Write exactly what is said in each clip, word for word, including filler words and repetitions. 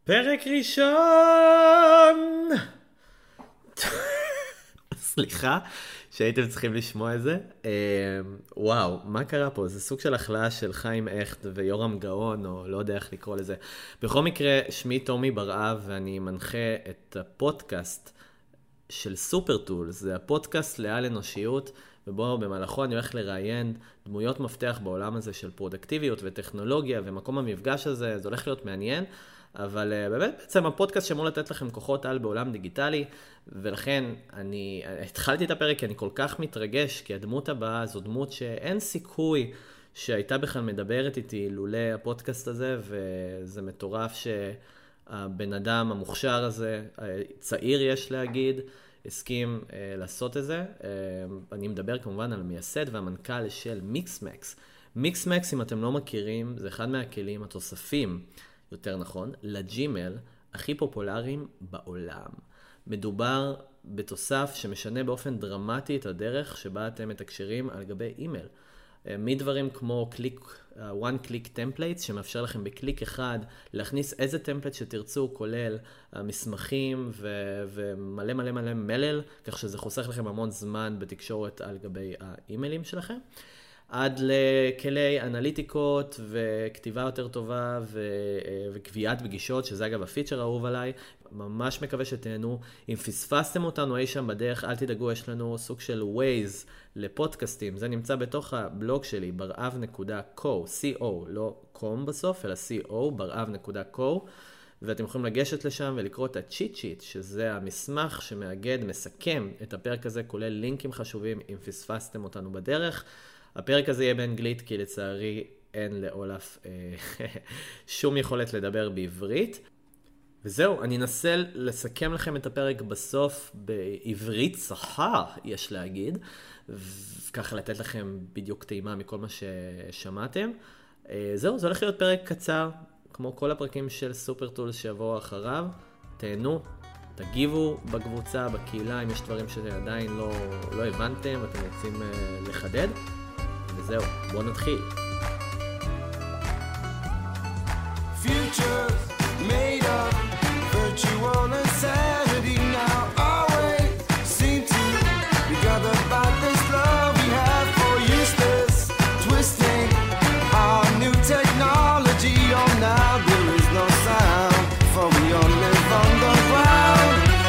פרק ראשון! סליחה שהייתם צריכים לשמוע את זה. וואו, מה קרה פה? זה סוג של החלאה של חיים הכט ויורם גאון, או לא יודע איך לקרוא לזה. בכל מקרה, שמי תומי ברעב, ואני מנחה את הפודקאסט של סופרטול. זה הפודקאסט לעל אנושיות, ובו במהלכו אני הולך לראיין דמויות מפתח בעולם הזה של פרודקטיביות וטכנולוגיה, ומקום המפגש הזה, זה הולך להיות מעניין. אבל uh, באמת בעצם הפודקאסט שאמור לתת לכם כוחות על בעולם דיגיטלי, ולכן אני התחלתי את הפרק כי אני כל כך מתרגש, כי הדמות הבאה זו דמות שאין סיכוי שהייתה בכלל מדברת איתי לולא הפודקאסט הזה, וזה מטורף שהבן אדם המוכשר הזה, צעיר יש להגיד, הסכים uh, לעשות את זה. Uh, אני מדבר כמובן על המייסד והמנכ"ל של מיקסמקס. מיקסמקס, אם אתם לא מכירים, זה אחד מהכלים התוספים, יותר נכון, לג'ימל הכי פופולריים בעולם. מדובר בתוסף שמשנה באופן דרמטי את הדרך שבה אתם מתקשרים על גבי אימייל. מדברים כמו קליק, one click templates, שמאפשר לכם בקליק אחד להכניס איזה טמפלט שתרצו, כולל מסמכים ו- ומלא מלא מלא מלל, כך שזה חוסך לכם המון זמן בתקשורת על גבי האימיילים שלכם. עד לכלי אנליטיקות וכתיבה יותר טובה ו- וקביעת פגישות, שזה אגב הפיצ'ר האהוב עליי. ממש מקווה שתהנו. אם פספסתם אותנו אי שם בדרך, אל תדאגו, יש לנו סוג של ווייז לפודקאסטים. זה נמצא בתוך הבלוג שלי, ברעב נקודה קו, co, לא קום בסוף, אלא co, ברעב נקודה קו. ואתם יכולים לגשת לשם ולקרוא את הצ'יט שיט, שזה המסמך שמאגד, מסכם את הפרק הזה, כולל לינקים חשובים אם פספסתם אותנו בדרך. הפרק הזה יהיה באנגלית, כי לצערי אין לאולף אה, שום יכולת לדבר בעברית. וזהו, אני אנסה לסכם לכם את הפרק בסוף בעברית צחה, יש להגיד, וככה לתת לכם בדיוק טעימה מכל מה ששמעתם. אה, זהו, זה הולך להיות פרק קצר, כמו כל הפרקים של סופרטול שיבואו אחריו. תהנו, תגיבו בקבוצה, בקהילה, אם יש דברים שעדיין לא, לא הבנתם ואתם רוצים אה, לחדד. וזהו, בואו נתחיל. Futures made of virtual insanity now always seem to be gathered by this love we have for useless twisting our new technology on now there is no sound for we all live on the ground.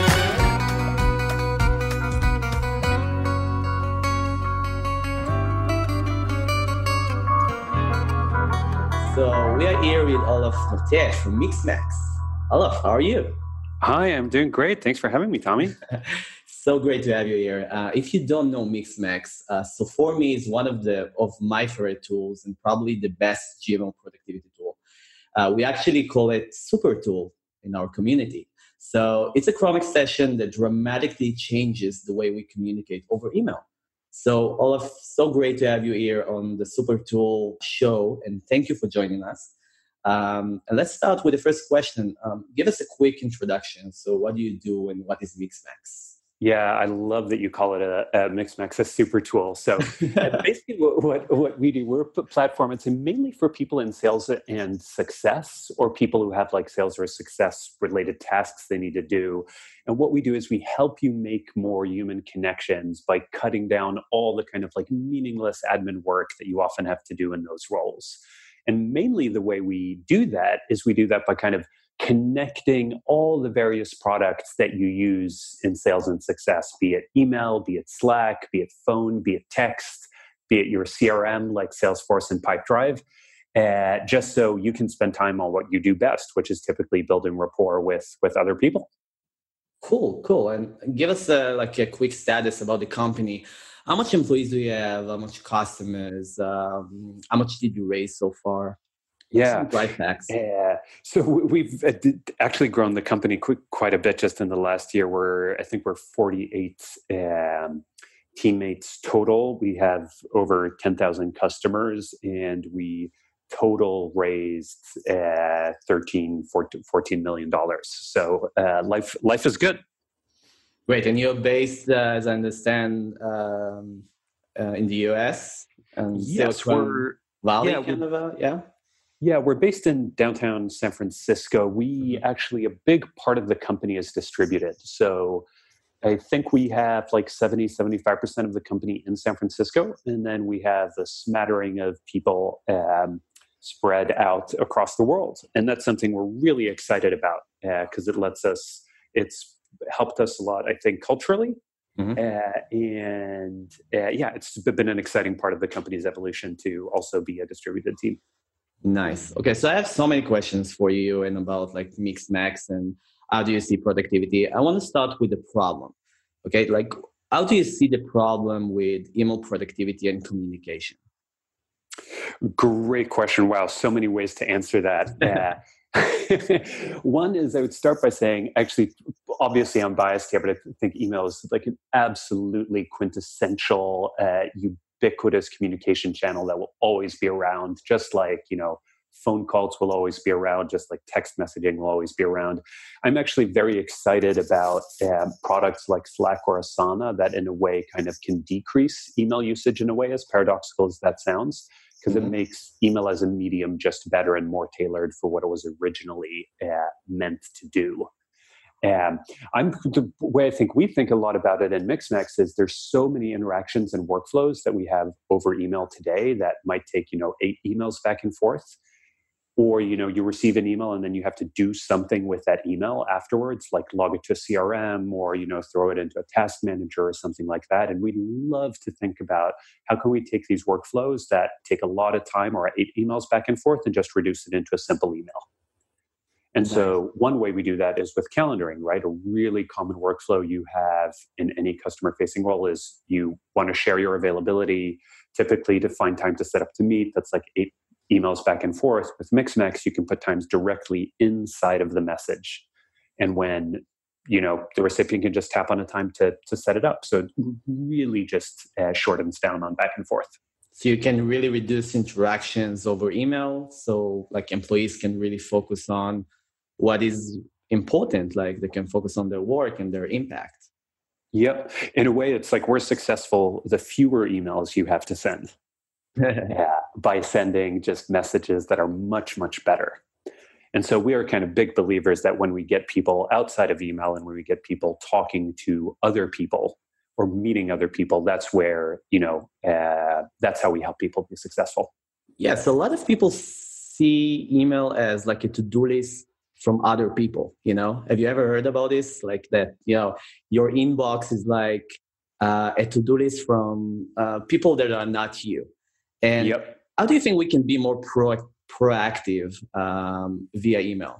So we are here with Olaf Matesh from Mixmax. Olaf, how are you? Hi, I'm doing great. Thanks for having me, Tommy. So great to have you here. Uh, if you don't know Mixmax, uh, so for me is one of the of my favorite tools and probably the best G M O productivity tool. Uh, we actually call it Super Tool in our community. So it's a Chrome extension that dramatically changes the way we communicate over email. So Olaf, so great to have you here on the Super Tool show, and thank you for joining us. Um, and let's start with the first question. Um, give us a quick introduction. So what do you do and what is Mixmax? Yeah, I love that you call it a, a Mixmax, a super tool. So basically what, what, what we do, we're a platform. It's mainly for people in sales and success, or people who have like sales or success related tasks they need to do. And what we do is we help you make more human connections by cutting down all the kind of like meaningless admin work that you often have to do in those roles. And mainly the way we do that is we do that by kind of connecting all the various products that you use in sales and success, be it email, be it Slack, be it phone, be it text, be it your C R M like Salesforce and Pipedrive, uh, just so you can spend time on what you do best, which is typically building rapport with, with other people. Cool, cool. And give us a, like a quick status about the company. How much employees do you have? How much customers? Um, how much did you raise so far? Yeah. Right facts. Yeah. So we've actually grown the company quite a bit just in the last year. We're, I think we're forty-eight um, teammates total. We have over ten thousand customers, and we total raised uh, thirteen, fourteen million dollars. So uh, life, life is good. Great. And you're based, uh, as I understand, um, uh, in the U S? And yes, we're... Valley, yeah, kind of a, yeah? Yeah, we're based in downtown San Francisco. We actually, a big part of the company is distributed. So I think we have like seventy, seventy-five percent of the company in San Francisco. And then we have a smattering of people um, spread out across the world. And that's something we're really excited about because uh, it lets us, it's helped us a lot, I think, culturally. Mm-hmm. Uh, and uh, yeah, it's been an exciting part of the company's evolution to also be a distributed team. Nice. Okay, so I have so many questions for you and about like Mixmax and how do you see productivity. I want to start with the problem. Okay, like how do you see the problem with email productivity and communication? Great question. Wow, so many ways to answer that. Uh, one is I would start by saying, actually, obviously I'm biased here, but I think email is like an absolutely quintessential, uh, ubiquitous communication channel that will always be around, just like, you know, phone calls will always be around, just like text messaging will always be around. I'm actually very excited about uh, products like Slack or Asana that in a way kind of can decrease email usage in a way, as paradoxical as that sounds, because mm-hmm. it makes email as a medium just better and more tailored for what it was originally uh, meant to do. Um, I'm the way I think we think a lot about it in Mixmax is there's so many interactions and workflows that we have over email today that might take, you know, eight emails back and forth. Or, you know, you receive an email and then you have to do something with that email afterwards, like log it to a C R M or, you know, throw it into a task manager or something like that. And we'd love to think about how can we take these workflows that take a lot of time or eight emails back and forth and just reduce it into a simple email. And so one way we do that is with calendaring, right? A really common workflow you have in any customer-facing role is you want to share your availability, typically to find time to set up to meet. That's like eight emails back and forth. With Mixmax, you can put times directly inside of the message. And when, you know, the recipient can just tap on a time to, to set it up. So it really just uh, shortens down on back and forth. So you can really reduce interactions over email. So like employees can really focus on what is important. Like they can focus on their work and their impact. Yep. In a way, it's like we're successful the fewer emails you have to send. Yeah, by sending just messages that are much, much better. And so we are kind of big believers that when we get people outside of email and when we get people talking to other people or meeting other people, that's where, you know, uh, that's how we help people be successful. Yes, a lot of people see email as like a to-do list from other people, you know? Have you ever heard about this? Like that, you know, your inbox is like uh, a to-do list from uh, people that are not you. And yep. How do you think we can be more pro- proactive um, via email?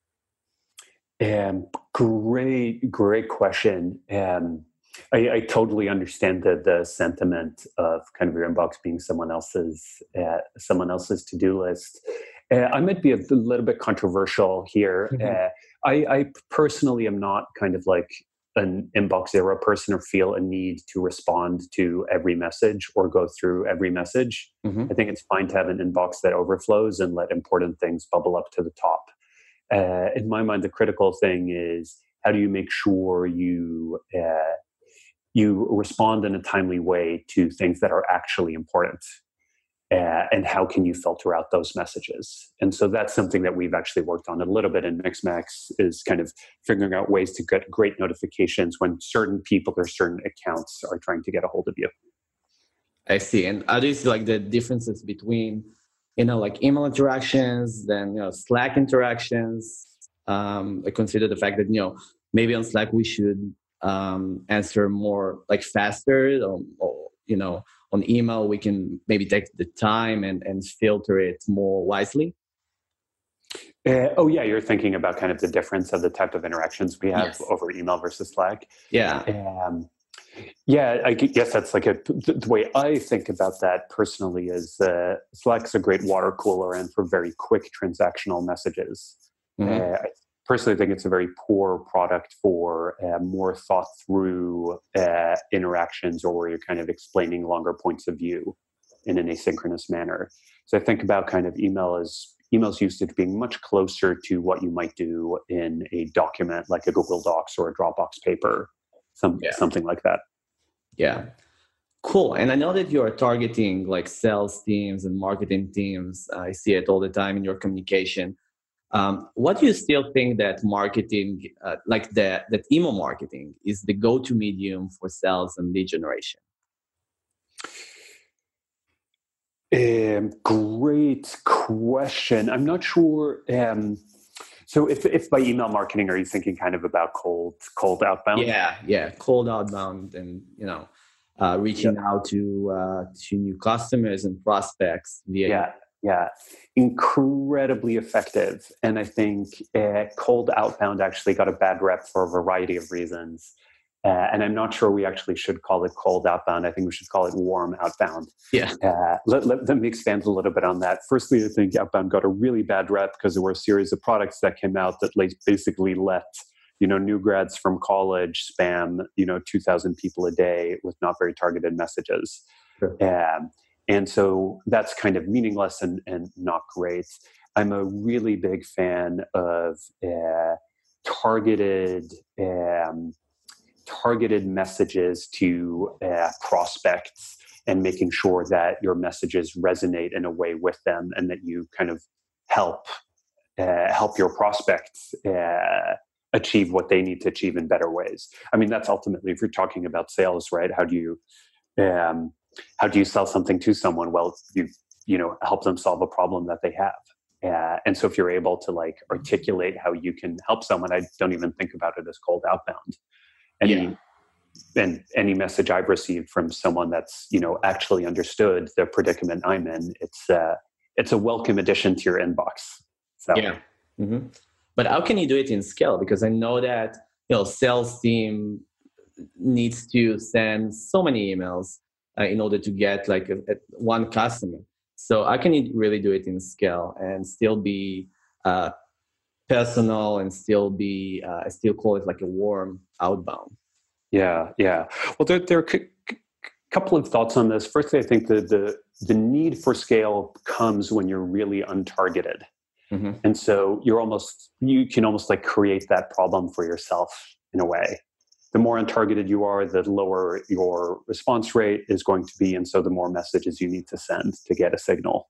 Um, great, great question. Um, I, I totally understand the, the sentiment of kind of your inbox being someone else's, uh, someone else's to-do list. Uh, I might be a little bit controversial here. Mm-hmm. Uh, I, I personally am not kind of like an inbox zero person or feel a need to respond to every message or go through every message. Mm-hmm. I think it's fine to have an inbox that overflows and let important things bubble up to the top. Uh, in my mind, the critical thing is how do you make sure you uh, you respond in a timely way to things that are actually important? Uh, and how can you filter out those messages? And so that's something that we've actually worked on a little bit in Mixmax is kind of figuring out ways to get great notifications when certain people or certain accounts are trying to get a hold of you. I see. And how do you see like the differences between, you know, like email interactions, then, you know, Slack interactions? Um, I consider the fact that, you know, maybe on Slack we should um, answer more like faster or, or you know, on email, we can maybe take the time and, and filter it more wisely. Uh, oh, yeah. You're thinking about kind of the difference of the type of interactions we have yes. over email versus Slack. Yeah. Um, yeah, I guess that's like a, the way I think about that personally is uh, Slack's a great water cooler and for very quick transactional messages. Mm-hmm. Uh, I personally think it's a very poor product for uh, more thought through uh, interactions or where you're kind of explaining longer points of view in an asynchronous manner. So I think about kind of email as email's usage being much closer to what you might do in a document like a Google Docs or a Dropbox paper, some, yeah. something like that. Yeah. Cool. And I know that you are targeting like sales teams and marketing teams. I see it all the time in your communication. Um, what do you still think that marketing, uh, like the, that email marketing, is the go-to medium for sales and lead generation? Um, great question. I'm not sure. Um, so if, if by email marketing, are you thinking kind of about cold, cold outbound? Yeah, yeah, cold outbound, and you know, uh, reaching Yep. out to uh, to new customers and prospects via Yeah, yeah, incredibly effective. And I think uh, cold outbound actually got a bad rep for a variety of reasons. Uh, and I'm not sure we actually should call it cold outbound. I think we should call it warm outbound. yeah, Uh, let, let, let me expand a little bit on that. Firstly, I think outbound got a really bad rep because there were a series of products that came out that like basically let you know new grads from college spam you know two thousand people a day with not very targeted messages. Sure. Um, and so that's kind of meaningless and, and not great. I'm a really big fan of uh, targeted um, targeted messages to uh, prospects and making sure that your messages resonate in a way with them and that you kind of help uh, help your prospects uh, achieve what they need to achieve in better ways. I mean, that's ultimately, if you're talking about sales, right? How do you um, how do you sell something to someone? Well, you you know help them solve a problem that they have. Uh, and so if you're able to like articulate how you can help someone, I don't even think about it as cold outbound. Any, Yeah. And any message I've received from someone that's you know actually understood the predicament I'm in, it's uh, it's a welcome addition to your inbox. So yeah. hmm But how can you do it in scale? Because I know that you know sales team needs to send so many emails uh, in order to get like a, a, one customer. So how can you really do it in scale and still be uh, personal and still be uh, I still call it like a warm outbound? yeah, yeah. Well, there, there are a c- c- couple of thoughts on this. Firstly, I think the the the need for scale comes when you're really untargeted. Mm-hmm. And so you're almost, you can almost like create that problem for yourself in a way. The more untargeted you are, the lower your response rate is going to be. And so the more messages you need to send to get a signal.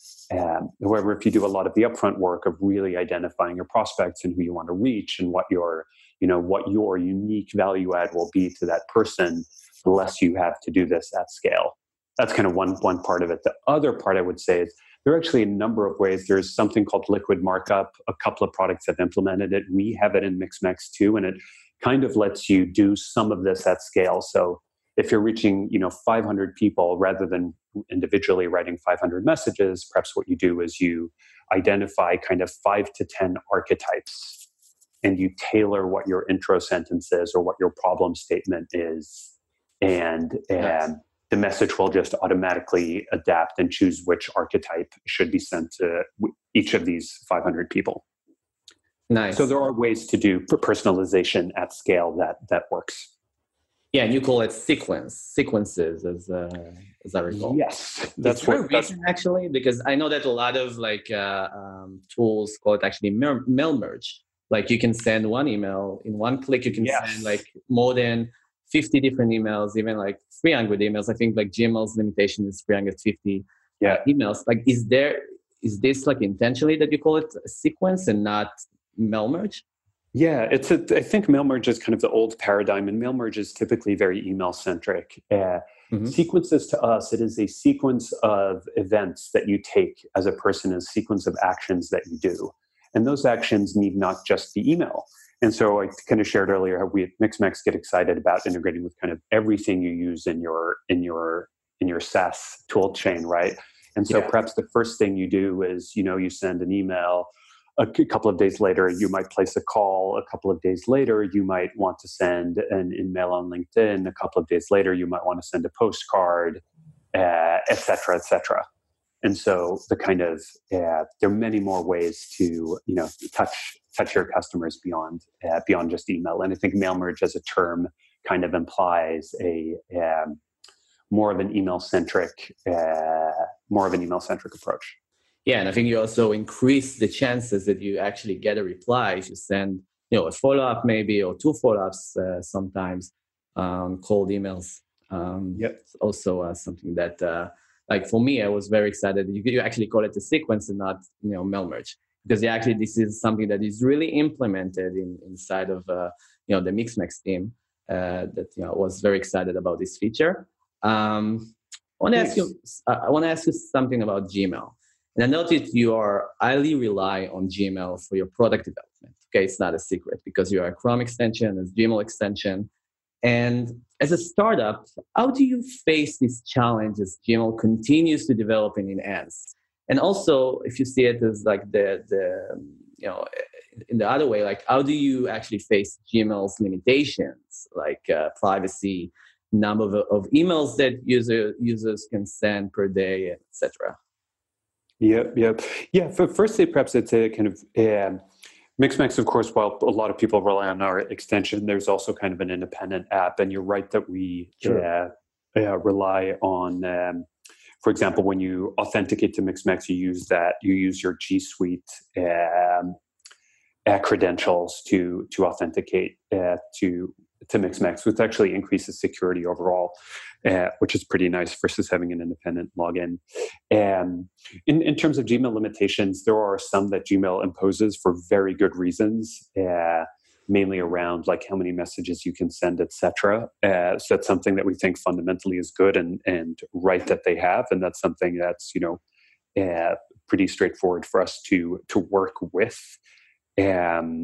Um, however, if you do a lot of the upfront work of really identifying your prospects and who you want to reach and what your, you know, what your unique value add will be to that person, the less you have to do this at scale. That's kind of one, one part of it. The other part I would say is, there are actually a number of ways. There's something called liquid markup. A couple of products have implemented it. We have it in MixMex too, and it kind of lets you do some of this at scale. So if you're reaching, you know, five hundred people rather than individually writing five hundred messages, perhaps what you do is you identify kind of five to ten archetypes, and you tailor what your intro sentence is or what your problem statement is, and Nice. um, the message will just automatically adapt and choose which archetype should be sent to each of these five hundred people. Nice. So there are ways to do personalization at scale that that works. Yeah, and you call it sequence sequences, as uh, as I recall. Yes, that's Is there what. a reason actually, because I know that a lot of like uh, um, tools call it actually mail mail merge. Like you can send one email in one click. You can Yes. send like more than fifty different emails, even like three hundred emails. I think like Gmail's limitation is three hundred fifty Yeah. emails. Like, is there is this like intentionally that you call it a sequence and not mail merge? Yeah, it's a. I think mail merge is kind of the old paradigm, and mail merge is typically very email centric. Uh, Mhm. Sequences to us, it is a sequence of events that you take as a person, a sequence of actions that you do, and those actions need not just be email. And so I kind of shared earlier how we at MixMex get excited about integrating with kind of everything you use in your in your in your SaaS tool chain, right? And so Yeah. perhaps the first thing you do is, you know, you send an email. A couple of days later, you might place a call. A couple of days later, you might want to send an email on LinkedIn. A couple of days later, you might want to send a postcard, uh, et cetera, et cetera. And so the kind of uh, there are many more ways to you know touch touch your customers beyond uh, beyond just email. And I think mail merge as a term kind of implies a um, more of an email centric uh, more of an email centric approach. Yeah, and I think you also increase the chances that you actually get a reply if you send, you know, a follow up maybe or two follow ups uh, sometimes on cold emails. Um, Yep. It's also uh, something that, uh, like for me, I was very excited. You, you actually call it a sequence and not, you know, mail merge, because yeah, actually this is something that is really implemented in inside of, uh, you know, the Mixmax team. Uh, that you know was very excited about this feature. Um, I want to ask you. I want to ask you something about Gmail. And I noticed you are highly rely on Gmail for your product development. Okay, it's not a secret because you are a Chrome extension, a Gmail extension. And as a startup, how do you face this challenge as Gmail continues to develop and enhance? And also, if you see it as like the the you know in the other way, like how do you actually face Gmail's limitations, like uh, privacy, number of, of emails that user users can send per day, et cetera. Yep, yep. Yeah, for firstly, perhaps it's a kind of um, Mixmax, of course, while a lot of people rely on our extension, there's also kind of an independent app. And you're right that we Sure. uh, uh, rely on, um, for example, when you authenticate to Mixmax, you use that, you use your G Suite um, uh, credentials to to authenticate uh, to to Mixmax, which actually increases security overall, uh, which is pretty nice versus having an independent login. Um, in, in terms of Gmail limitations, there are some that Gmail imposes for very good reasons, uh, mainly around like how many messages you can send, et cetera. Uh, so that's something that we think fundamentally is good and, and right that they have. And that's something that's, you know, uh, pretty straightforward for us to, to work with. Um,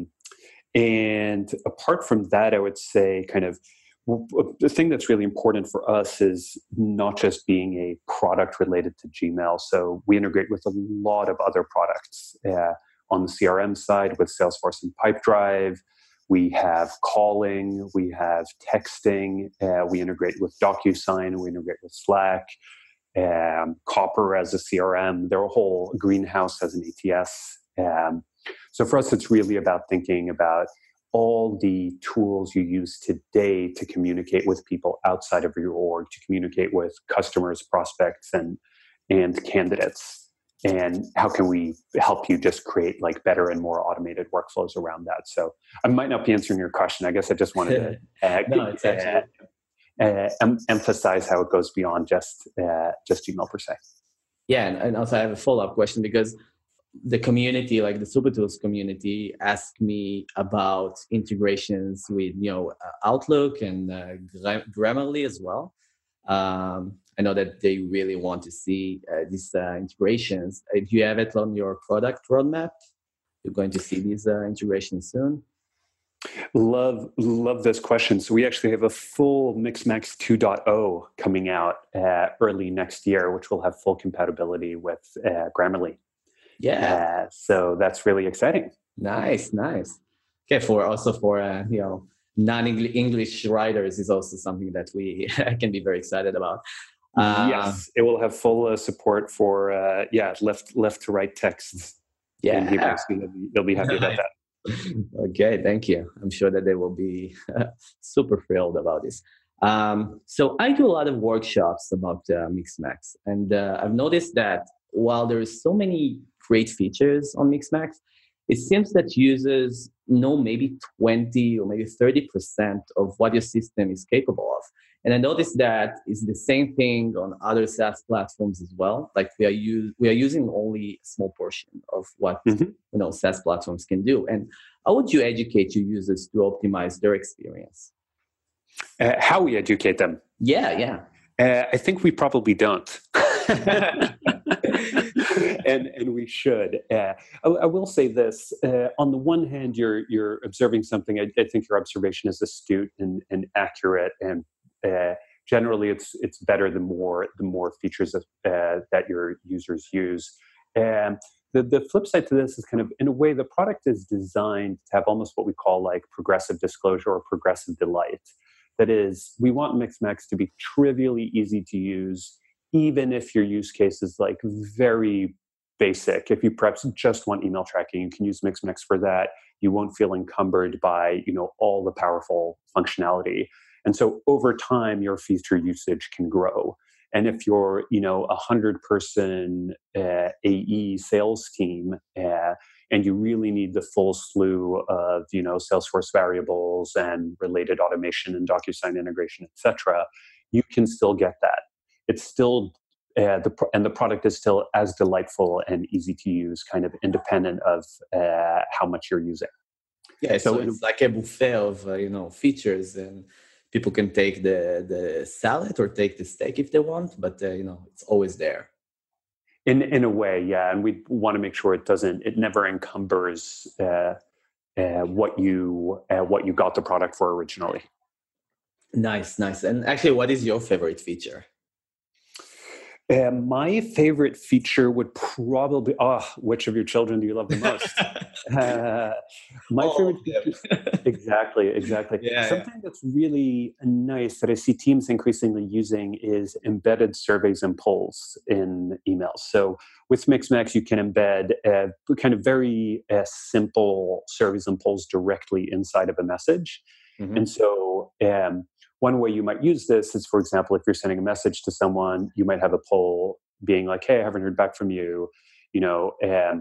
and apart from that, I would say kind of the thing that's really important for us is not just being a product related to Gmail. So we integrate with a lot of other products uh, on the C R M side with Salesforce and Pipedrive. We have calling, we have texting, uh, we integrate with DocuSign, we integrate with Slack, um, Copper as a C R M. They're a whole Greenhouse as an A T S. Um, so for us, it's really about thinking about all the tools you use today to communicate with people outside of your org, to communicate with customers, prospects, and and candidates. And how can we help you just create like better and more automated workflows around that? So I might not be answering your question. I guess I just wanted to uh, no, it's actually... uh, uh, em- emphasize how it goes beyond just uh, just Gmail per se. Yeah, and, and also I have a follow-up question because the community, like the SuperTools community, asked me about integrations with, you know, Outlook and uh, Grammarly as well. Um, I know that they really want to see uh, these uh, integrations. Uh, do you have it on your product roadmap? You're going to see these uh, integrations soon? Love, love this question. So we actually have a full Mixmax two point oh coming out uh, early next year, which will have full compatibility with uh, Grammarly. Yeah. Uh, so that's really exciting. Nice, nice. Okay, for also for uh, you know non-English writers is also something that we can be very excited about. Uh, yes, it will have full uh, support for uh, yeah left left to right texts. Yeah, in Hebrew, so they'll, be, they'll be happy about that. Okay, thank you. I'm sure that they will be super thrilled about this. Um, so I do a lot of workshops about uh, Mixmax, and uh, I've noticed that while there is so many great features on Mixmax, it seems that users know maybe twenty or maybe thirty percent of what your system is capable of. And I noticed that it's the same thing on other SaaS platforms as well. Like we are use, we are using only a small portion of what mm-hmm. you know SaaS platforms can do. And how would you educate your users to optimize their experience? Uh, how we educate them? Yeah, yeah. Uh, I think we probably don't. and and we should. Uh, I, I will say this: uh, on the one hand, you're you're observing something. I, I think your observation is astute and, and accurate, and uh, generally, it's it's better the more the more features of, uh, that your users use. And the the flip side to this is kind of, in a way, the product is designed to have almost what we call like progressive disclosure or progressive delight. That is, we want Mixmax to be trivially easy to use, even if your use case is like very basic. If you perhaps just want email tracking, you can use Mixmax for that. You won't feel encumbered by, you know, all the powerful functionality. And so over time, your feature usage can grow. And if you're, you know, a hundred person uh, A E sales team, uh, and you really need the full slew of, you know, Salesforce variables and related automation and DocuSign integration, et cetera, you can still get that. It's still uh, the and the product is still as delightful and easy to use, kind of independent of uh, how much you're using. Yeah, so, So it's like a buffet of uh, you know features, and people can take the the salad or take the steak if they want, but uh, you know it's always there. In in a way, yeah, and we want to make sure it doesn't, it never encumbers uh, uh, what you uh, what you got the product for originally. Nice, nice. And actually, what is your favorite feature? Uh, my favorite feature would probably, oh, which of your children do you love the most? uh, my All favorite of them. feature, exactly, exactly. Yeah, Something yeah. that's really nice that I see teams increasingly using is embedded surveys and polls in emails. So with Mixmax, you can embed uh, kind of very uh, simple surveys and polls directly inside of a message. Mhm. And so um, one way you might use this is, for example, if you're sending a message to someone, you might have a poll being like, hey, I haven't heard back from you. You know, um,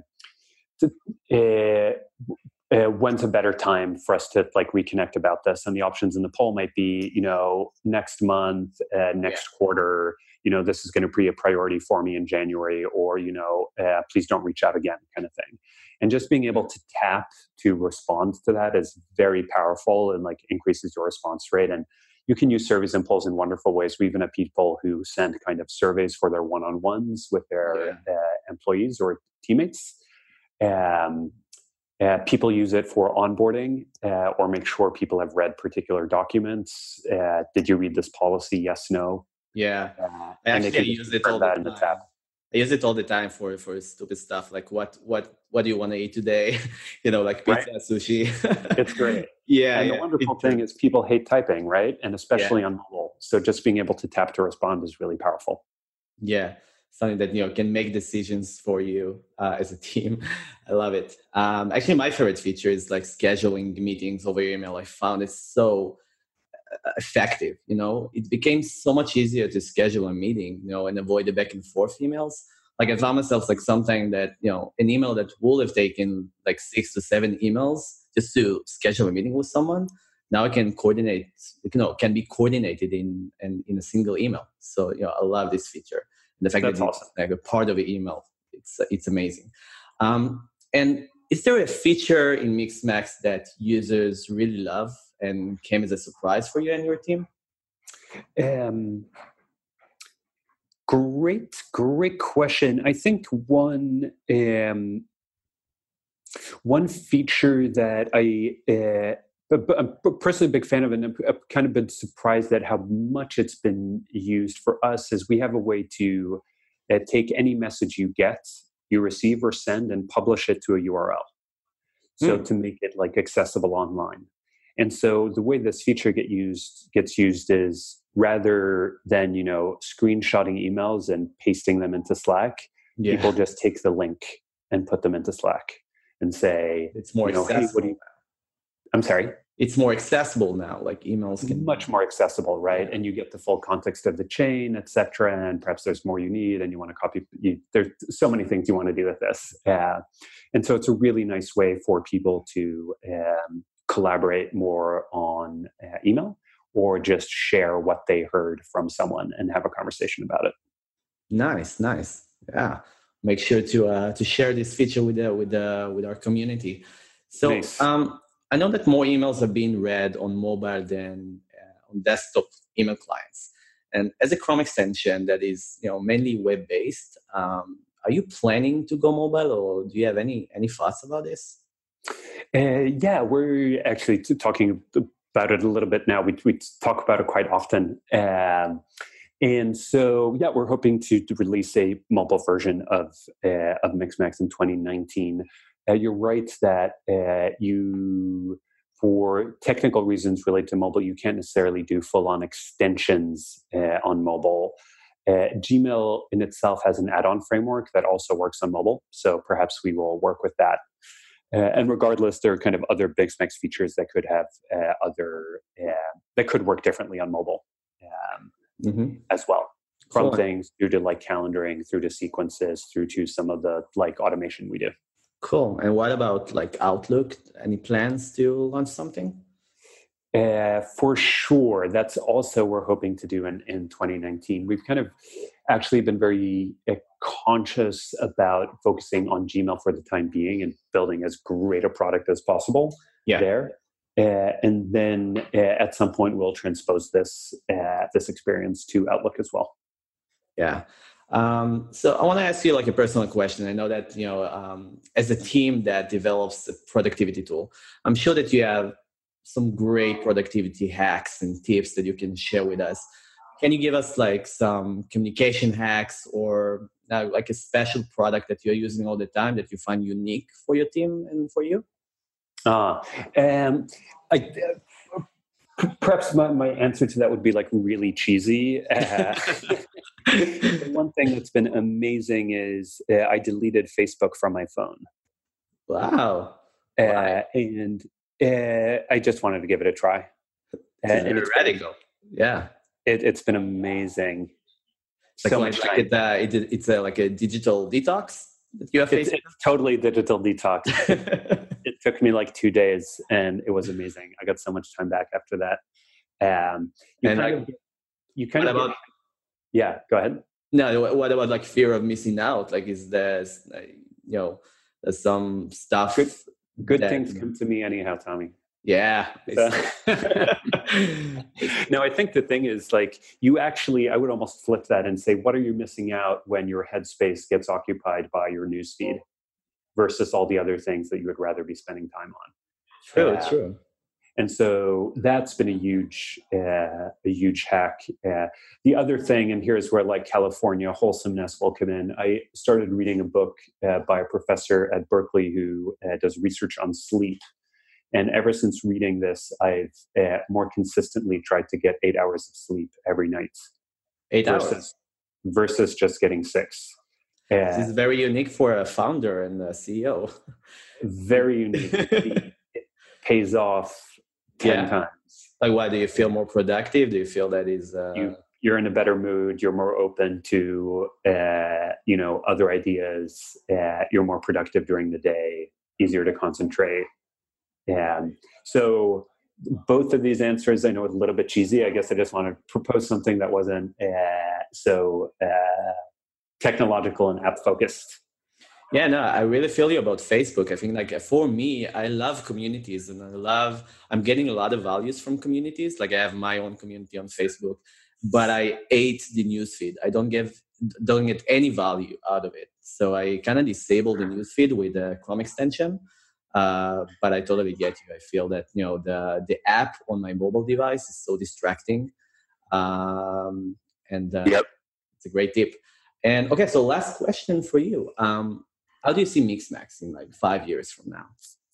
uh, uh, when's a better time for us to like reconnect about this? And the options in the poll might be, you know, next month, uh, next yeah. quarter, you know, this is going to be a priority for me in January, or, you know, uh, please don't reach out again, kind of thing. And just being able to tap to respond to that is very powerful and like increases your response rate. And you can use surveys and polls in wonderful ways. We even have people who send kind of surveys for their one-on-ones with their yeah. uh, employees or teammates. Um, uh, people use it for onboarding uh, or make sure people have read particular documents. Uh, did you read this policy? Yes, no. Yeah, uh, I actually use it all the time. In the tab. I use it all the time for for stupid stuff like what what what do you want to eat today? You know, like pizza, right. Sushi. It's great. Yeah, and yeah. the wonderful it, thing is people hate typing, right? And especially yeah. on mobile. So just being able to tap to respond is really powerful. Yeah, something that you know can make decisions for you uh, as a team. I love it. Um, actually, my favorite feature is like scheduling meetings over email. I found it so effective. You know, it became so much easier to schedule a meeting, you know, and avoid the back and forth emails. Like I found myself like something that, you know, an email that would have taken like six to seven emails just to schedule a meeting with someone. Now I can coordinate, you know, can be coordinated in, in, in a single email. So, you know, I love this feature. And the fact That's that awesome. it's like a part of the email, it's, it's amazing. Um, and is there a feature in Mixmax that users really love and came as a surprise for you and your team? Um, great, great question. I think one um, one feature that I uh, I'm personally a big fan of, and I've kind of been surprised at how much it's been used for us, is we have a way to uh, take any message you get, you receive or send, and publish it to a U R L. So mm. to make it like accessible online. And so the way this feature get used gets used is rather than, you know, screenshotting emails and pasting them into Slack, yeah. people just take the link and put them into Slack and say, it's more you know, accessible. Hey, what do you... I'm sorry? It's more accessible now, like emails can much more accessible, right? And you get the full context of the chain, et cetera. And perhaps there's more you need and you want to copy. You, there's so many things you want to do with this. Uh, and so it's a really nice way for people to um, collaborate more on uh, email or just share what they heard from someone and have a conversation about it. Nice, nice. Yeah. Make sure to uh, to share this feature with uh, with uh, with our community. So nice. um, I know that more emails are being read on mobile than uh, on desktop email clients. And as a Chrome extension that is, you know, mainly web-based, um, are you planning to go mobile, or do you have any any thoughts about this? Uh, yeah, we're actually talking about it a little bit now. We we talk about it quite often. Um, and so, yeah, we're hoping to, to release a mobile version of uh, of Mixmax in twenty nineteen. Uh, you're right that uh, you, for technical reasons related to mobile, you can't necessarily do full-on extensions uh, on mobile. Uh, Gmail in itself has an add-on framework that also works on mobile, so perhaps we will work with that. Uh, and regardless, there are kind of other Mixmax features that could have uh, other uh, that could work differently on mobile um, mm-hmm. as well. From cool. things through to like calendaring, through to sequences, through to some of the like automation we do. Cool. And what about like Outlook? Any plans to launch something? Uh, for sure. That's also we're hoping to do in, in twenty nineteen. We've kind of actually been very uh, conscious about focusing on Gmail for the time being and building as great a product as possible Yeah. there. Uh, and then uh, at some point we'll transpose this uh, this experience to Outlook as well. Yeah. Um, so I want to ask you like a personal question. I know that, you know, um, as a team that develops a productivity tool, I'm sure that you have some great productivity hacks and tips that you can share with us. Can you give us like some communication hacks or uh, like a special product that you're using all the time that you find unique for your team and for you? Uh, um, I, uh, perhaps my, my answer to that would be like really cheesy. Uh, the one thing that's been amazing is uh, I deleted Facebook from my phone. Wow. Uh, Wow. and uh, I just wanted to give it a try. Uh, It's and very it's radical. Yeah. It, it's been amazing. Like, So like, much like time. it, uh, it, it's a, like a digital detox that you have It's, faced. it's totally digital detox. It took me like two days, and it was amazing. I got so much time back after that. Um, you And kind like, of, you kind what of, about get, yeah. Go ahead. no? What what about like fear of missing out? Like, is there, uh, you know, there's some stuff? Good, good that- things come to me anyhow, Tommy. Yeah. So- no, I think the thing is like you actually, I would almost flip that and say, what are you missing out when your headspace gets occupied by your newsfeed versus all the other things that you would rather be spending time on? True. Uh, True. And so that's been a huge, uh, a huge hack. Uh, the other thing, and here's where like California wholesomeness will come in. I started reading a book uh, by a professor at Berkeley who uh, does research on sleep. And ever since reading this, I've uh, more consistently tried to get eight hours of sleep every night. Eight versus, hours. Versus just getting six. Uh, This is very unique for a founder and a C E O. very unique. It pays off ten Yeah. times. Like, why do you feel more productive? Do you feel that is uh, You, you're in a better mood. You're more open to, uh, you know, other ideas. Uh, you're more productive during the day, easier to concentrate. And so both of these answers, I know it's a little bit cheesy. I guess I just want to propose something that wasn't uh, so uh, technological and app focused. Yeah, no, I really feel you about Facebook. I think like for me, I love communities and I love, I'm getting a lot of values from communities. Like I have my own community on Facebook, but I hate the newsfeed. I don't give, don't get any value out of it. So I kind of disable the newsfeed with the Chrome extension. Uh, but I totally get you. I feel that, you know, the, the app on my mobile device is so distracting. Um, and uh, Yep. It's a great tip. And okay, so last question for you. Um, how do you see Mixmax in like five years from now?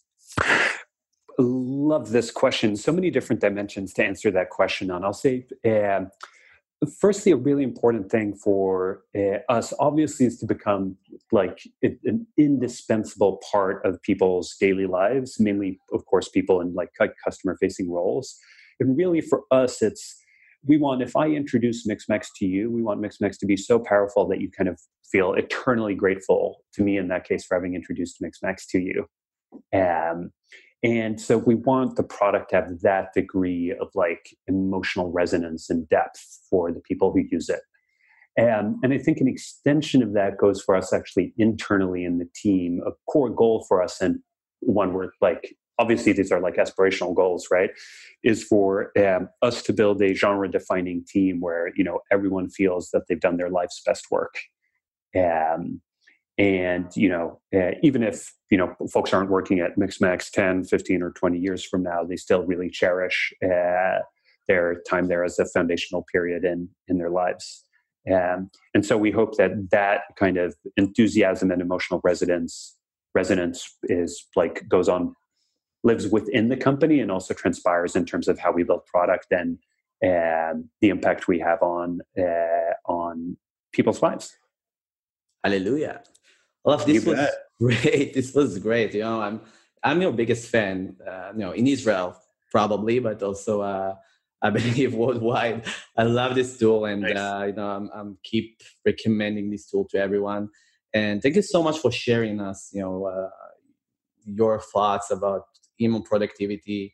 Love this question. So many different dimensions to answer that question on. I'll say, uh, firstly, a really important thing for uh, us, obviously, is to become like an indispensable part of people's daily lives, mainly, of course, people in like customer-facing roles. And really, for us, it's we want, if I introduce Mixmax to you, we want Mixmax to be so powerful that you kind of feel eternally grateful to me, in that case, for having introduced Mixmax to you. Um, and so we want the product to have that degree of like emotional resonance and depth for the people who use it. Um, and I think an extension of that goes for us actually internally in the team. A core goal for us, and one where like, obviously these are like aspirational goals, right? Is for um, us to build a genre defining team where, you know, everyone feels that they've done their life's best work. Um, and, you know, uh, even if, you know, folks aren't working at Mixmax ten, fifteen or twenty years from now, they still really cherish uh, their time there as a foundational period in, in their lives. Um, and so we hope that that kind of enthusiasm and emotional resonance, resonance is like goes on, lives within the company and also transpires in terms of how we build product and um, the impact we have on uh, on people's lives. Hallelujah. Well, this You was bet. great. This was great. You know, I'm I'm your biggest fan. Uh, you know, in Israel probably, but also uh, I believe worldwide. I love this tool, and Nice. uh, you know, I'm I'm keep recommending this tool to everyone. And thank you so much for sharing us. You know, uh, your thoughts about email productivity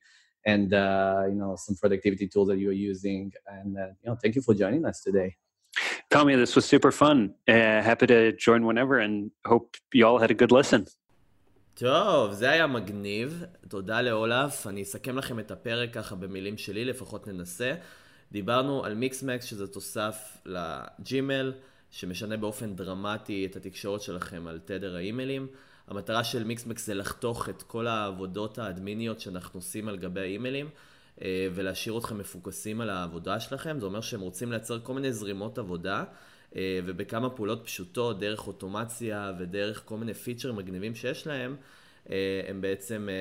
and uh, you know some productivity tools that you're using. And uh, you know, thank you for joining us today. Tommy, this was super fun. Uh, happy to join whenever, and hope you all had a good listen. טוב, זה היה מגניב. תודה לאולף. אני אסכם לכם את הפרק ככה במילים שלי, לפחות ננסה. דיברנו על מיקסמקס, שזה תוסף לג'ימל, שמשנה באופן דרמטי את התקשורת שלכם על תדר האימיילים. המטרה של מיקסמקס זה לחתוך את כל העבודות האדמיניות שאנחנו עושים על גבי האימיילים, ולהשאיר אתכם מפוקסים על העבודה שלכם. זה אומר שהם רוצים לייצר כל מיני זרימות עבודה, ובכמה פעולות פשוטות, דרך אוטומציה ודרך כל מיני פיצ'רים מגניבים שיש להם, הם בעצם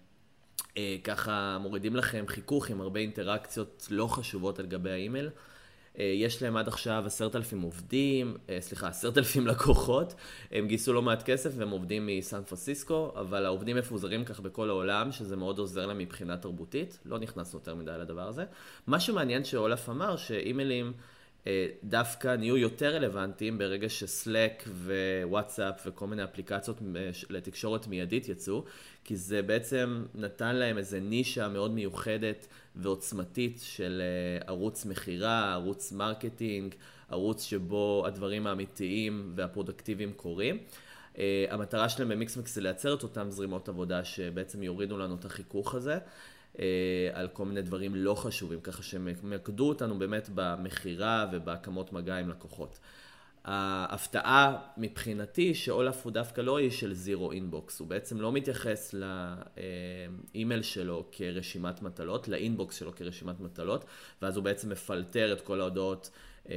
ככה מורידים לכם חיכוך עם הרבה אינטראקציות לא חשובות על גבי האימייל. יש להם עד עכשיו עשרת אלפים עובדים, סליחה, עשרת אלפים לקוחות, הם גייסו לא מעט כסף והם עובדים מסן פרנסיסקו, אבל העובדים מפוזרים כך בכל העולם, שזה מאוד עוזר להם מבחינה תרבותית, לא נכנסנו יותר מדי לדבר הזה. מה שמעניין שאולף אמר, שאימיילים דווקא נהיו יותר רלוונטיים ברגע שסלק ווואטסאפ וכל מיני אפליקציות לתקשורת מיידית יצאו, כי זה בעצם נתן להם איזה נישה מאוד מיוחדת ועוצמתית של ערוץ מחירה, ערוץ מרקטינג, ערוץ שבו הדברים האמיתיים והפרודקטיביים קורים. המטרה שלהם במיקסמקס זה לייצר את אותם זרימות עבודה שבעצם יורידו לנו את החיכוך הזה, על כל מיני דברים לא חשובים, ככה שמקדו אותנו באמת במחירה ובהקמות מגע עם לקוחות. ההפתעה מבחינתי שאולף הוא דווקא לא איש של זירו אינבוקס, הוא בעצם לא מתייחס לאימייל שלו כרשימת מטלות, לאינבוקס שלו כרשימת מטלות, ואז הוא בעצם מפלטר את כל ההודעות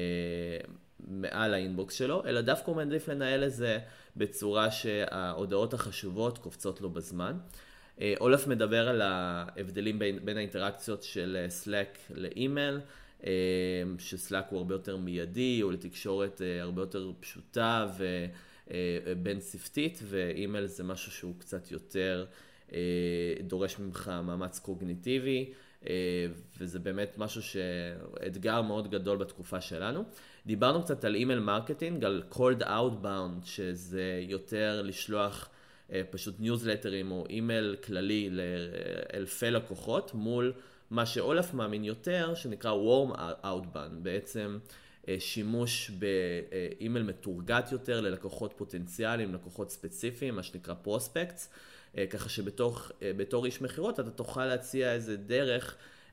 מעל האינבוקס שלו, אלא דווקא הוא מעדיף לנהל את זה בצורה שההודעות החשובות קופצות לו בזמן. אולף מדבר על ההבדלים בין, בין האינטראקציות של סלק לאימייל, שסלק הוא הרבה יותר מיידי, או לתקשורת הרבה יותר פשוטה ובין ספתית, ואימייל זה משהו שהוא קצת יותר דורש ממך מאמץ קוגניטיבי, וזה באמת משהו שאתגר מאוד גדול בתקופה שלנו. דיברנו קצת על אימייל מרקטינג, על cold outbound, שזה יותר לשלוח פשוט ניוזלטרים או אימייל כללי לאלפי לקוחות, מול מה שאולף מאמין יותר, שנקרא warm outbound, בעצם שימוש באימייל מתורגת יותר ללקוחות פוטנציאליים, לקוחות ספציפיים, מה שנקרא פרוספקטס, ככה שבתור איש מחירות אתה תוכל להציע איזה דרך,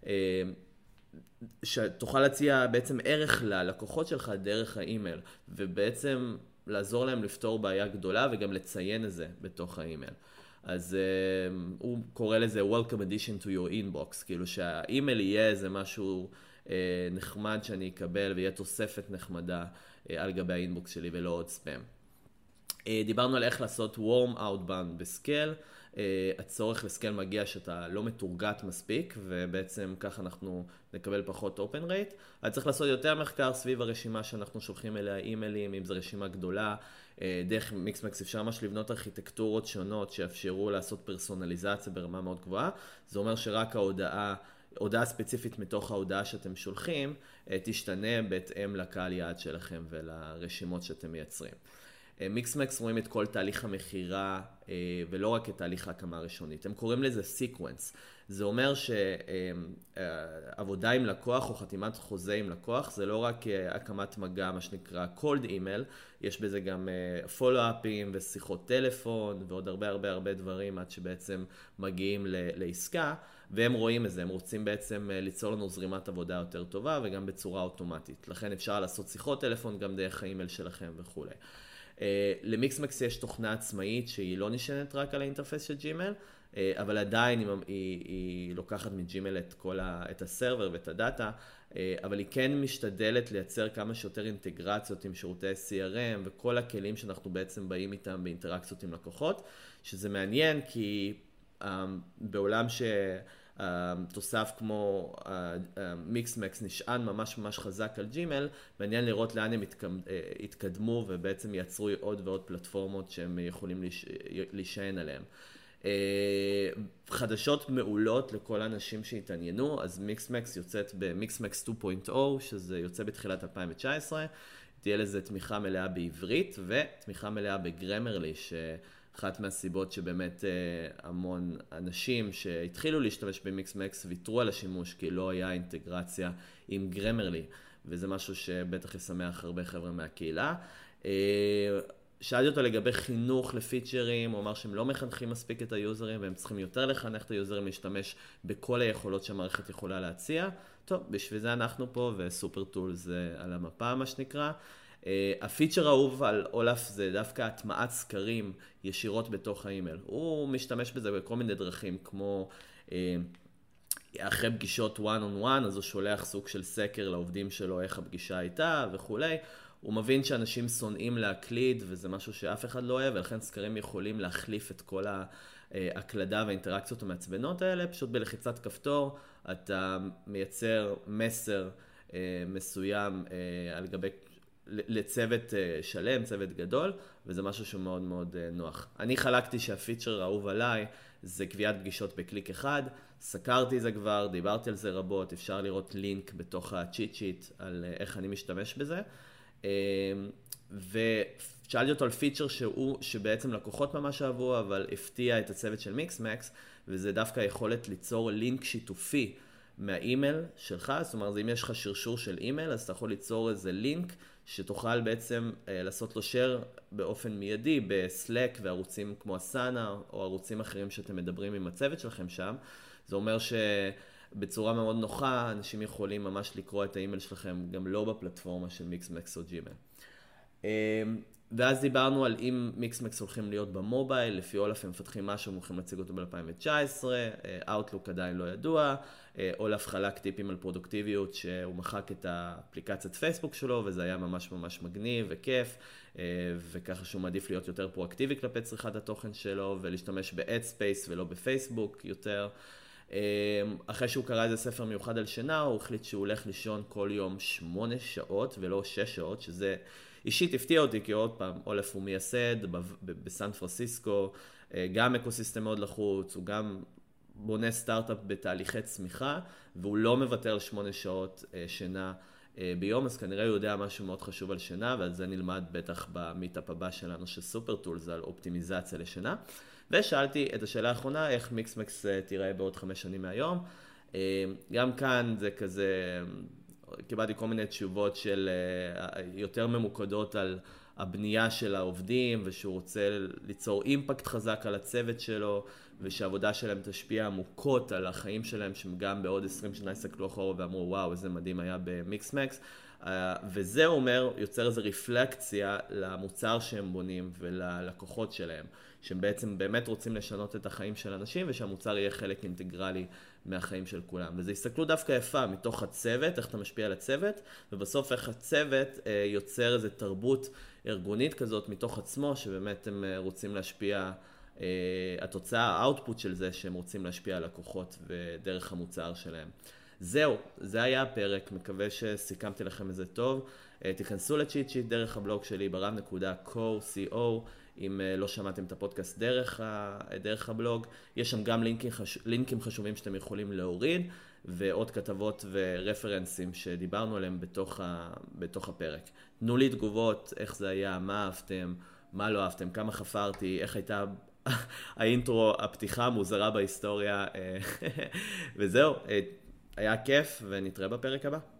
שתוכל להציע בעצם ערך ללקוחות שלך דרך האימייל, ובעצם לעזור להם לפתור בעיה גדולה וגם לציין את זה בתוך האימייל. אז uh, הוא קורא לזה Welcome addition to your inbox, כאילו שהאימייל יהיה איזה משהו uh, נחמד שאני אקבל ויהיה תוספת נחמדה uh, על גבי האינבוקס שלי ולא עוד ספאם. Uh, דיברנו על איך לעשות warm outbound בסקייל. Uh, הצורך לסקייל מגיע שאתה לא מתורגת מספיק, ובעצם ככה אנחנו נקבל פחות open rate. אז צריך לעשות יותר מחקר סביב הרשימה שאנחנו שולחים אליה אימיילים, אם זו רשימה גדולה. Uh, דרך מיקסמקס אפשר ממש לבנות ארכיטקטורות שונות שיאפשרו לעשות פרסונליזציה ברמה מאוד גבוהה. זה אומר שרק ההודעה, הודעה ספציפית מתוך ההודעה שאתם שולחים, uh, תשתנה בהתאם לקהל יעד שלכם ולרשימות שאתם מייצרים. מיקסמקס רואים את כל תהליך המחירה ולא רק את תהליך ההקמה הראשונית. הם קוראים לזה סיקוונס. זה אומר שעבודה עם לקוח או חתימת חוזה עם לקוח זה לא רק הקמת מגע, מה שנקרא cold email, יש בזה גם פולו-אפים ושיחות טלפון ועוד הרבה הרבה הרבה דברים עד שבעצם מגיעים לעסקה, והם רואים את זה, הם רוצים בעצם ליצור לנו זרימת עבודה יותר טובה וגם בצורה אוטומטית. לכן אפשר לעשות שיחות טלפון גם דרך האימייל שלכם וכו'. Uh, למיקסמקס יש תוכנה עצמאית שהיא לא נשענת רק על האינטרפס של ג'ימייל, uh, אבל עדיין היא, היא, היא לוקחת מג'ימייל את כל ה, את הסרבר ואת הדאטה, uh, אבל היא כן משתדלת לייצר כמה שיותר אינטגרציות עם שירותי סי אר אם וכל הכלים שאנחנו בעצם באים איתם באינטראקציות עם לקוחות, שזה מעניין כי um, בעולם ש... תוסף כמו מיקסמקס נשען ממש ממש חזק על ג'ימייל, מעניין לראות לאן הם התקדמו ובעצם יצרו עוד ועוד פלטפורמות שהם יכולים להישען עליהם. חדשות מעולות לכל האנשים שהתעניינו, אז מיקסמקס יוצאת במיקסמקס שתיים נקודה אפס, שזה יוצא בתחילת אלפיים תשע עשרה, תהיה לזה תמיכה מלאה בעברית ותמיכה מלאה בגרמרלי, ש... אחת מהסיבות שבאמת המון אנשים שהתחילו להשתמש במיקסמקס ויתרו על השימוש, כי לא היה אינטגרציה עם גרמרלי, וזה משהו שבטח ישמח הרבה חבר'ה מהקהילה. שאלתי אותו לגבי חינוך לפיצ'רים, הוא אמר שהם לא מחנכים מספיק את היוזרים, והם צריכים יותר לחנך את היוזרים להשתמש בכל היכולות שהמערכת יכולה להציע. טוב, בשביל זה אנחנו פה, וסופר טול זה על המפה, מה שנקרא. הפיצ'ר האהוב על אולף זה דווקא הטמעת סקרים ישירות בתוך האימייל. הוא משתמש בזה בכל מיני דרכים, כמו אחרי פגישות one on one, אז הוא שולח סוג של סקר לעובדים שלו, איך הפגישה הייתה וכולי. הוא מבין שאנשים שונאים להקליד, וזה משהו שאף אחד לא אוהב, ולכן סקרים יכולים להחליף את כל ההקלדה והאינטראקציות המעצבנות האלה. פשוט בלחיצת כפתור, אתה מייצר מסר מסוים על גבי, לצוות שלם, צוות גדול, וזה משהו שהוא מאוד מאוד נוח. אני חלקתי שהפיצ'ר האהוב עליי זה קביעת פגישות בקליק אחד, סקרתי זה כבר, דיברתי על זה רבות, אפשר לראות לינק בתוך הצ'יט שיט על איך אני משתמש בזה. ושאלתי אותו על פיצ'ר שהוא, שבעצם לקוחות ממש אהבו, אבל הפתיע את הצוות של מיקסמקס, וזה דווקא יכולת ליצור לינק שיתופי מהאימייל שלך. זאת אומרת, אם יש לך שרשור של אימייל, אז אתה יכול ליצור איזה לינק שתוכל בעצם לעשות לו share באופן מיידי בסלק וערוצים כמו אסנה או ערוצים אחרים שאתם מדברים עם הצוות שלכם שם. זה אומר ש... בצורה מאוד נוחה, אנשים יכולים ממש לקרוא את האימייל שלכם, גם לא בפלטפורמה של מיקסמקס או ג'ימייל. ואז דיברנו על אם מיקסמקס הולכים להיות במובייל, לפי אולף הם מפתחים משהו, הם הולכים להציג אותו ב-אלפיים תשע עשרה, Outlook עדיין לא ידוע, אולף חלק טיפים על פרודוקטיביות, שהוא מחק את האפליקציית פייסבוק שלו, וזה היה ממש ממש מגניב וכיף, וככה שהוא מעדיף להיות יותר פרואקטיבי כלפי צריכת התוכן שלו, ולהשתמש ב-Headspace ולא בפייסבוק יותר. אחרי שהוא קרא איזה ספר מיוחד על שינה, הוא החליט שהוא הולך לישון כל יום שמונה שעות ולא שש שעות, שזה אישית הפתיע אותי, כי עוד פעם, אולף הוא מייסד בסן פרנסיסקו, גם אקוסיסטם מאוד לחוץ, הוא גם בונה סטארט-אפ בתהליכי צמיחה, והוא לא מוותר על שמונה שעות שינה ביום, אז כנראה הוא יודע משהו מאוד חשוב על שינה, ועל זה נלמד בטח במיטאפ הבא שלנו של סופר טולס, על אופטימיזציה לשינה. ושאלתי את השאלה האחרונה, איך מיקסמקס תיראה בעוד חמש שנים מהיום. גם כאן זה כזה, קיבלתי כל מיני תשובות של יותר ממוקדות על הבנייה של העובדים, ושהוא רוצה ליצור אימפקט חזק על הצוות שלו, ושהעבודה שלהם תשפיע עמוקות על החיים שלהם, שגם בעוד עשרים שנה יסתכלו אחורה ואמרו, וואו, איזה מדהים היה במיקסמקס. וזה אומר, יוצר איזו רפלקציה למוצר שהם בונים וללקוחות שלהם, שהם בעצם באמת רוצים לשנות את החיים של אנשים, ושהמוצר יהיה חלק אינטגרלי מהחיים של כולם. וזו הסתכלות דווקא יפה מתוך הצוות, איך אתה משפיע על הצוות, ובסוף איך הצוות יוצר איזו תרבות ארגונית כזאת מתוך עצמו, שבאמת הם רוצים להשפיע, התוצאה, האוטפוט של זה, שהם רוצים להשפיע על לקוחות ודרך המוצר שלהם. זהו, זה היה הפרק, מקווה שסיכמתי לכם את זה טוב. תיכנסו לצ'יט שיט דרך הבלוג שלי ברב נקודה קו, סי או, אם לא שמעתם את הפודקאסט דרך, דרך הבלוג. יש שם גם לינקים, חש... לינקים חשובים שאתם יכולים להוריד, ועוד כתבות ורפרנסים שדיברנו עליהם בתוך, ה... בתוך הפרק. תנו לי תגובות, איך זה היה, מה אהבתם, מה לא אהבתם, כמה חפרתי, איך הייתה האינטרו, הפתיחה המוזרה בהיסטוריה, וזהו. היה כיף, ונתראה בפרק הבא.